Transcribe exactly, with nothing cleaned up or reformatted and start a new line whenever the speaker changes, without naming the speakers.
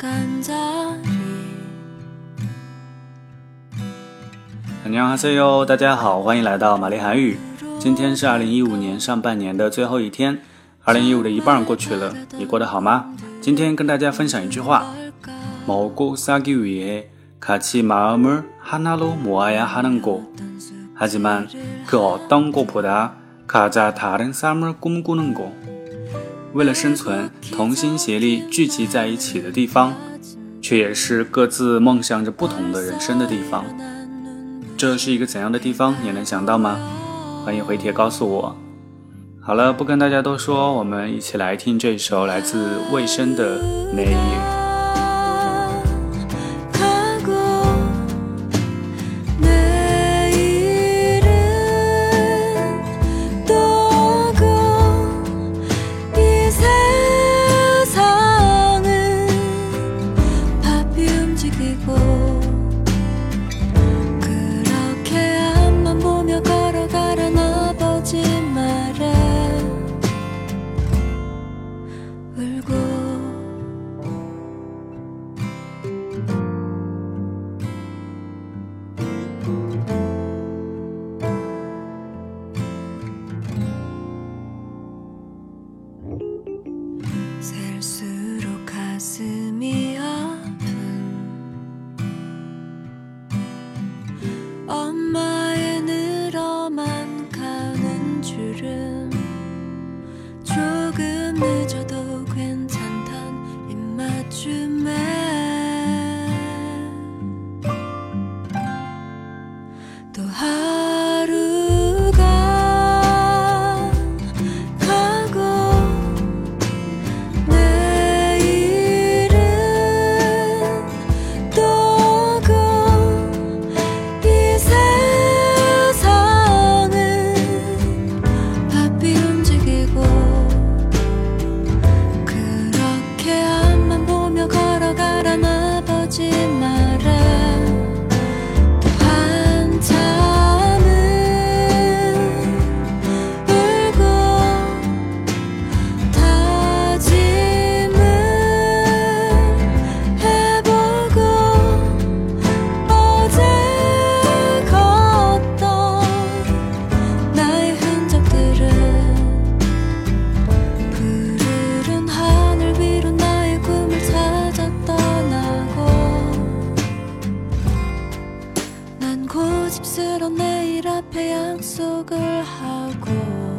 안녕하세요，大家好，欢迎来到玛丽韩语。今天是二零一五年上半年的最后一天，二零一五的一半过去了，你过得好吗？今天跟大家分享一句话，먹고 살기 위해 같이 마음을 하나로 모아야 하는 곳. 하지만 그 어떤 곳보다 가장 다른 삶을 꿈꾸는 곳. 为了生存，同心协力聚集在一起的地方，却也是各自梦想着不同的人生的地方。这是一个怎样的地方？你能想到吗？欢迎回帖告诉我。好了，不跟大家多说，我们一起来听这首来自魏升的《내일》。
엄마의 늘어만 가는 줄은 조금 늦어도 괜찮단 입맞춤에 또 하루가 가고 내일은 또 고집스런 내일 앞에 약속을 하고